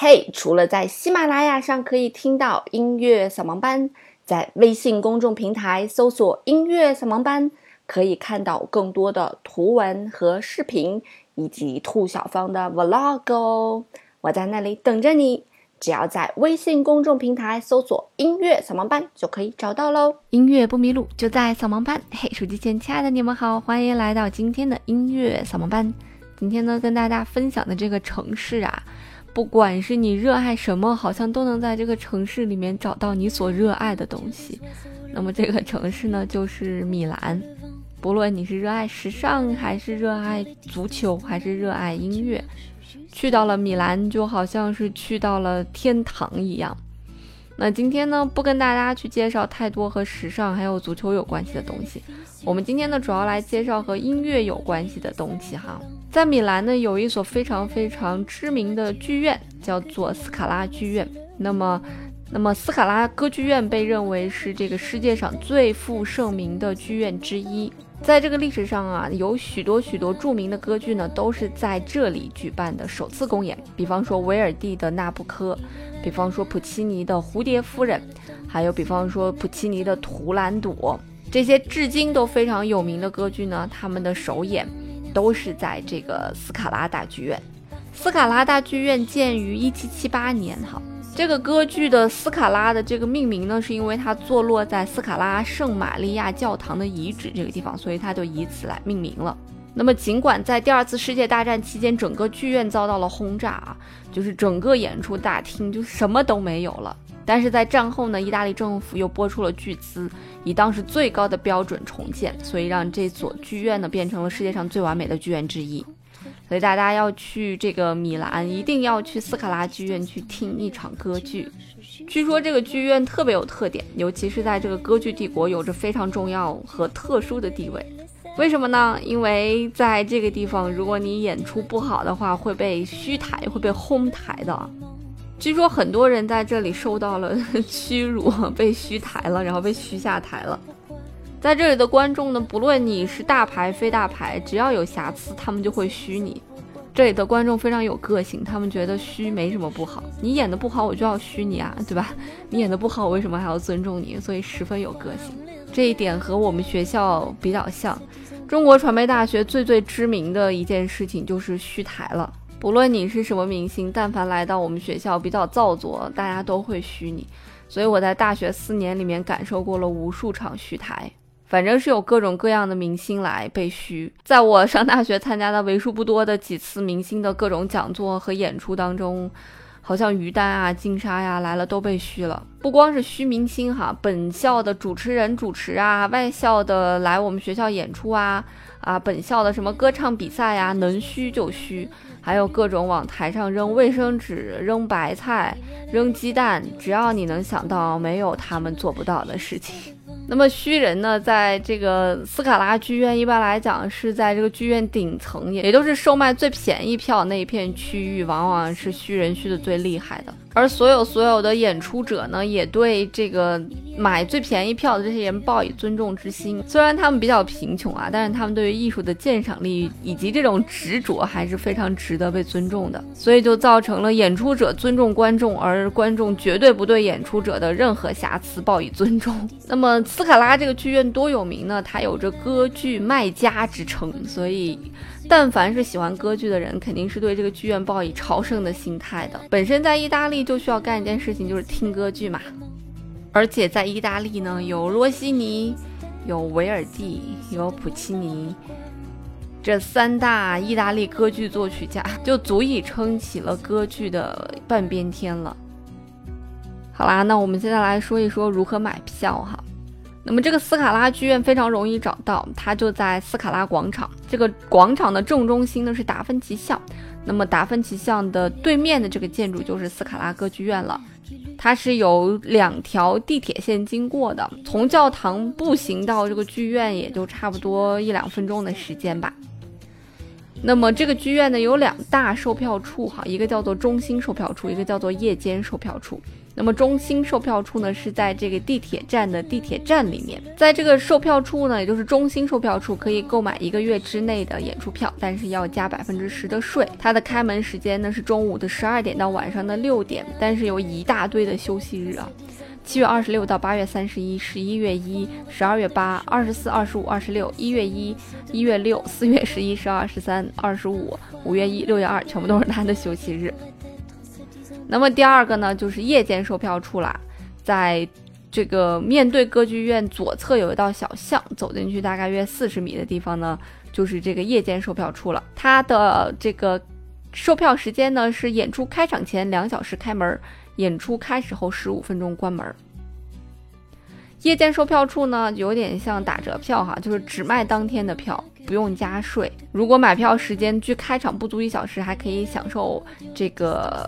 嘿，除了在喜马拉雅上可以听到音乐扫盲班，在微信公众平台搜索音乐扫盲班，可以看到更多的图文和视频，以及兔小芳的 vlog 哦。我在那里等着你，只要在微信公众平台搜索音乐扫盲班就可以找到咯。音乐不迷路，就在扫盲班。嘿，手机前亲爱的你们好，欢迎来到今天的音乐扫盲班。今天呢，跟大家分享的这个城市啊，不管是你热爱什么，好像都能在这个城市里面找到你所热爱的东西。那么这个城市呢，就是米兰。不论你是热爱时尚，还是热爱足球，还是热爱音乐，去到了米兰就好像是去到了天堂一样。那今天呢，不跟大家去介绍太多和时尚还有足球有关系的东西，我们今天呢主要来介绍和音乐有关系的东西哈。在米兰呢，有一所非常非常知名的剧院，叫做斯卡拉剧院。那么斯卡拉歌剧院被认为是这个世界上最负盛名的剧院之一。在这个历史上啊，有许多著名的歌剧呢，都是在这里举办的首次公演。比方说维尔蒂的《那不科》，比方说普契尼的《蝴蝶夫人》，还有比方说普契尼的《图兰朵》，这些至今都非常有名的歌剧呢，他们的首演都是在这个斯卡拉大剧院。斯卡拉大剧院建于1778年哈。这个歌剧的斯卡拉的这个命名呢，是因为它坐落在斯卡拉圣玛利亚教堂的遗址这个地方，所以它就以此来命名了。那么尽管在第二次世界大战期间，整个剧院遭到了轰炸啊，就是整个演出大厅就什么都没有了，但是在战后呢，意大利政府又拨出了巨资，以当时最高的标准重建，所以让这所剧院呢变成了世界上最完美的剧院之一。所以大家要去这个米兰，一定要去斯卡拉剧院去听一场歌剧。据说这个剧院特别有特点，尤其是在这个歌剧帝国有着非常重要和特殊的地位。为什么呢？因为在这个地方，如果你演出不好的话，会被虚台，会被轰台的。据说很多人在这里受到了屈辱，被虚台了，然后被虚下台了。在这里的观众呢，不论你是大牌非大牌，只要有瑕疵，他们就会虚你。这里的观众非常有个性，他们觉得虚没什么不好，你演得不好我就要虚你啊，对吧？你演得不好我为什么还要尊重你？所以十分有个性。这一点和我们学校比较像。中国传媒大学最知名的一件事情就是虚台了。不论你是什么明星，但凡来到我们学校比较造作，大家都会虚你。所以我在大学4年里面感受过了无数场虚台。反正是有各种各样的明星来被虚。在我上大学参加的为数不多的几次明星的各种讲座和演出当中，好像于丹啊、金莎呀来了都被虚了。不光是虚明星哈，本校的主持人主持啊，外校的来我们学校演出啊，本校的什么歌唱比赛呀，能虚就虚。还有各种往台上扔卫生纸、扔白菜、扔鸡蛋，只要你能想到，没有他们做不到的事情。那么虚人呢，在这个斯卡拉剧院一般来讲是在这个剧院顶层，也都是售卖最便宜票那一片区域，往往是虚人虚的最厉害的。而所有的演出者呢，也对这个买最便宜票的这些人抱以尊重之心。虽然他们比较贫穷啊，但是他们对于艺术的鉴赏力以及这种执着还是非常值得被尊重的。所以就造成了演出者尊重观众，而观众绝对不对演出者的任何瑕疵抱以尊重。那么斯卡拉这个剧院多有名呢？它有着歌剧卖家之称，所以但凡是喜欢歌剧的人，肯定是对这个剧院抱以朝圣的心态的。本身在意大利就需要干一件事情，就是听歌剧嘛。而且在意大利呢，有罗西尼，有维尔蒂，有普契尼，这3大意大利歌剧作曲家就足以撑起了歌剧的半边天了。好啦，那我们现在来说一说如何买票哈。那么这个斯卡拉剧院非常容易找到，它就在斯卡拉广场。这个广场的正中心呢是达芬奇巷，那么达芬奇巷的对面的这个建筑就是斯卡拉歌剧院了。它是有2条地铁线经过的，从教堂步行到这个剧院也就差不多1-2分钟的时间吧。那么这个剧院呢有2大售票处哈，一个叫做中心售票处，一个叫做夜间售票处。 那么中心售票处呢是在这个地铁站的地铁站里面，在这个售票处呢，也就是中心售票处可以购买1个月之内的演出票，但是要加10%的税。它的开门时间呢是中午的12点到晚上的6点，但是有一大堆的休息日啊。7月26到8月31、11月1、12月8、24、25、26、1月1、1月6、4月11、12、13、25、5月1、6月2，全部都是它的休息日。那么第二个呢，就是夜间售票处啦，在这个面对歌剧院左侧有一道小巷，走进去大概约40米的地方呢，就是这个夜间售票处了。它的这个售票时间呢是演出开场前2小时开门，演出开始后15分钟关门。夜间售票处呢有点像打折票哈，就是只卖当天的票，不用加税。如果买票时间距开场不足1小时，还可以享受这个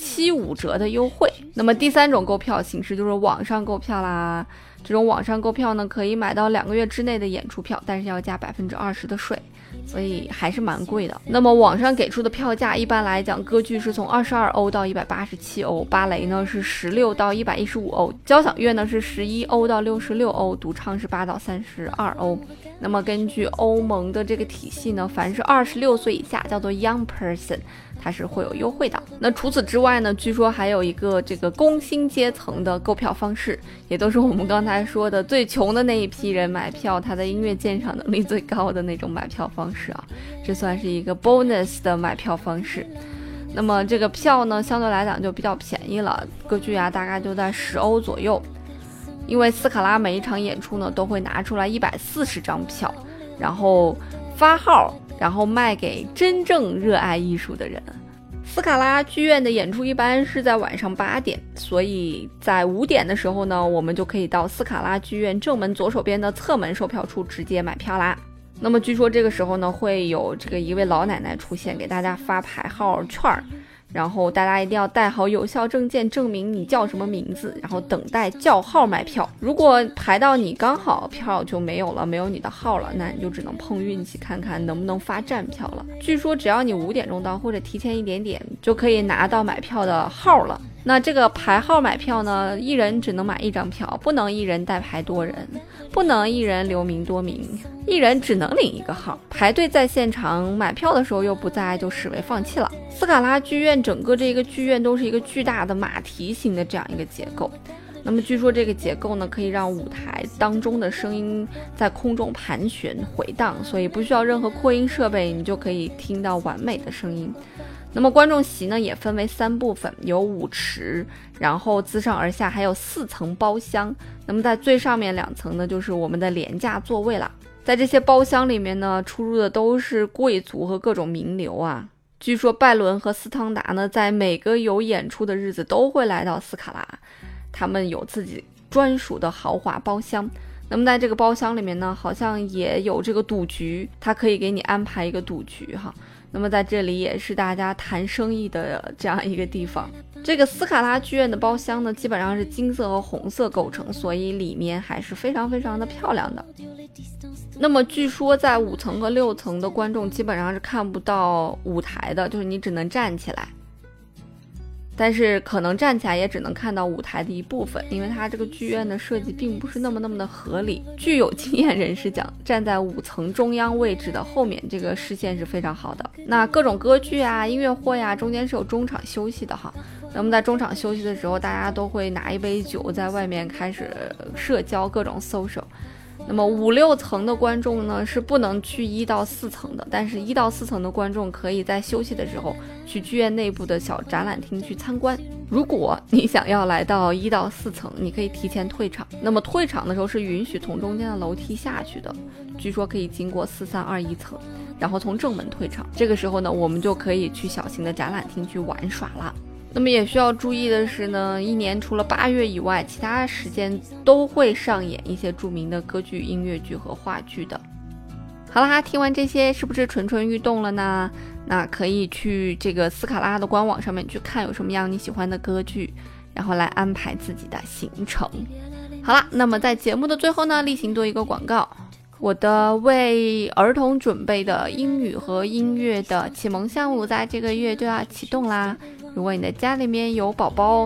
75折的优惠。那么第三种购票形式就是网上购票啦。这种网上购票呢，可以买到2个月之内的演出票，但是要加20%的税，所以还是蛮贵的。那么网上给出的票价，一般来讲，歌剧是从22欧到187欧，芭蕾呢是16到115欧，交响乐呢是11欧到66欧，独唱是8到32欧。那么根据欧盟的这个体系呢，凡是26岁以下叫做 young person， 它是会有优惠的。那除此之外呢，据说还有一个这个工薪阶层的购票方式，也都是我们刚才说的最穷的那一批人买票，他的音乐鉴赏能力最高的那种买票方式啊，这算是一个 bonus 的买票方式。那么这个票呢，相对来讲就比较便宜了，歌剧啊大概就在10欧左右。因为斯卡拉每一场演出呢都会拿出来140张票，然后发号，然后卖给真正热爱艺术的人。斯卡拉剧院的演出一般是在晚上8点，所以在5点的时候呢，我们就可以到斯卡拉剧院正门左手边的侧门售票处直接买票啦。那么据说这个时候呢，会有这个一位老奶奶出现，给大家发牌号券，然后大家一定要带好有效证件，证明你叫什么名字，然后等待叫号买票。如果排到你刚好票就没有了，没有你的号了，那你就只能碰运气，看看能不能发站票了。据说只要你5点钟到，或者提前1点点，就可以拿到买票的号了。那这个排号买票呢，一人只能买1张票，不能一人代排多人，不能一人留名多名，一人只能领1个号。排队在现场买票的时候又不在，就视为放弃了。斯卡拉剧院整个这个剧院都是一个巨大的马蹄形的这样一个结构。那么据说这个结构呢，可以让舞台当中的声音在空中盘旋回荡，所以不需要任何扩音设备，你就可以听到完美的声音。那么观众席呢也分为3部分，有舞池，然后自上而下还有4层包厢。那么在最上面2层呢，就是我们的廉价座位了。在这些包厢里面呢，出入的都是贵族和各种名流啊。据说拜伦和斯汤达呢，在每个有演出的日子都会来到斯卡拉，他们有自己专属的豪华包厢。那么在这个包厢里面呢，好像也有这个赌局，他可以给你安排一个赌局哈。那么在这里也是大家谈生意的这样一个地方。这个斯卡拉剧院的包厢呢，基本上是金色和红色构成，所以里面还是非常非常的漂亮的。那么据说在5层和6层的观众基本上是看不到舞台的，就是你只能站起来，但是可能站起来也只能看到舞台的一部分，因为它这个剧院的设计并不是那么的合理。据有经验人士讲，站在5层中央位置的后面，这个视线是非常好的。那各种歌剧啊、音乐会啊，中间是有中场休息的哈。那么在中场休息的时候，大家都会拿一杯酒在外面开始社交，各种 social。那么5、6层的观众呢是不能去1到4层的，但是1到4层的观众可以在休息的时候去剧院内部的小展览厅去参观。如果你想要来到1到4层，你可以提前退场。那么退场的时候是允许从中间的楼梯下去的，据说可以经过4321层，然后从正门退场。这个时候呢，我们就可以去小型的展览厅去玩耍了。那么也需要注意的是呢，一年除了8月以外，其他时间都会上演一些著名的歌剧、音乐剧和话剧的。好啦，听完这些是不是蠢蠢欲动了呢？那可以去这个斯卡拉的官网上面去看有什么样你喜欢的歌剧，然后来安排自己的行程。好啦，那么在节目的最后呢，例行做一个广告。我的为儿童准备的英语和音乐的启蒙项目在这个月就要启动啦。如果你的家里面有宝宝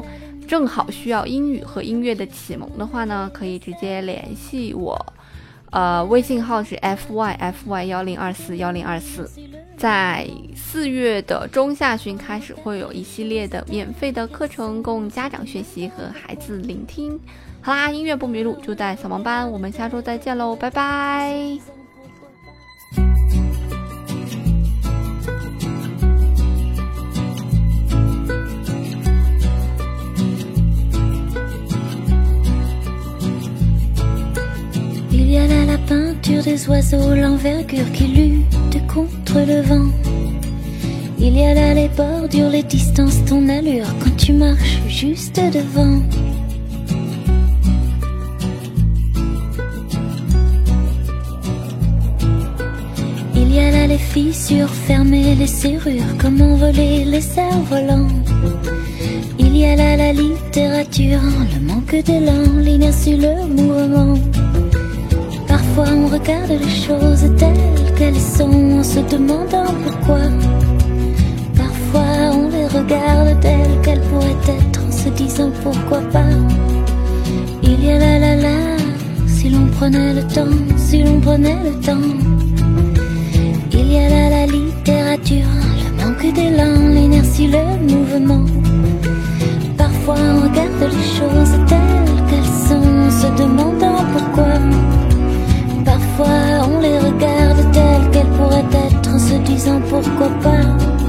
正好需要英语和音乐的启蒙的话呢，可以直接联系我，微信号是 FYFY10241024。在4月的中下旬开始，会有一系列的免费的课程供家长学习和孩子聆听。好啦，音乐不迷路就在扫盲班，我们下周再见喽，拜拜。 Il y a là la peinture des oiseaux, l'envergure qui lutte contre le vent. Il y a là les bordures, les distances, ton allure quand tu marches juste devant. Il y a là les fissures fermées, les serrures, comment voler les cerfs-volants. Il y a là la littérature, le manque d'élan, l'inertie, le mouvement. Parfois on regarde les choses telles qu'elles sont en se demandant pourquoi. Parfois on les regarde telles qu'elles pourraient être en se disant pourquoi pas. Il y a la, si l'on prenait le temps, si l'on prenait le temps. Il y a là la littérature, le manque d'élan, l'inertie, le mouvement. Parfois on regarde les choses telles qu'elles sont en se demandant pourquoi. Parfois on les regarde telles qu'elles pourraient être en se disant pourquoi pas.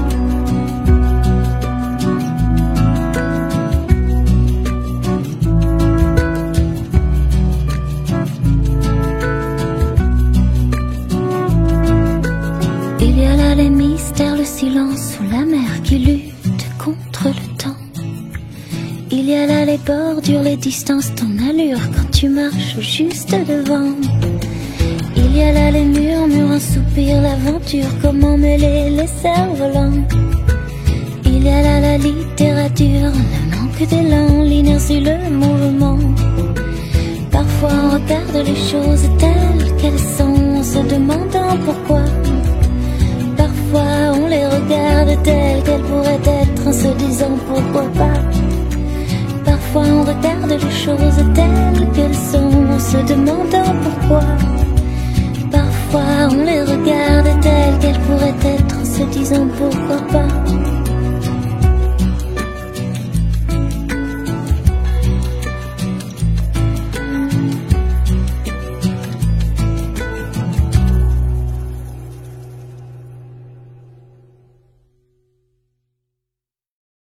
Il y a là les mystères, le silence ou la mer qui lutte contre le temps. Il y a là les bordures, les distances, ton allure quand tu marches juste devant. Il y a là les murmures, un soupir, l'aventure, comment mêler les cerfs-volants. Il y a là la littérature, le manque d'élan, l'inertie, le mouvement. Parfois on regarde les choses telles qu'elles sont en se demandant pourquoi. Parfois on les regarde telles qu'elles pourraient être en se disant pourquoi pas. Parfois on regarde les choses telles qu'elles sont en se demandant pourquoi. Parfois on les regarde telles qu'elles pourraient être en se disant pourquoi pas.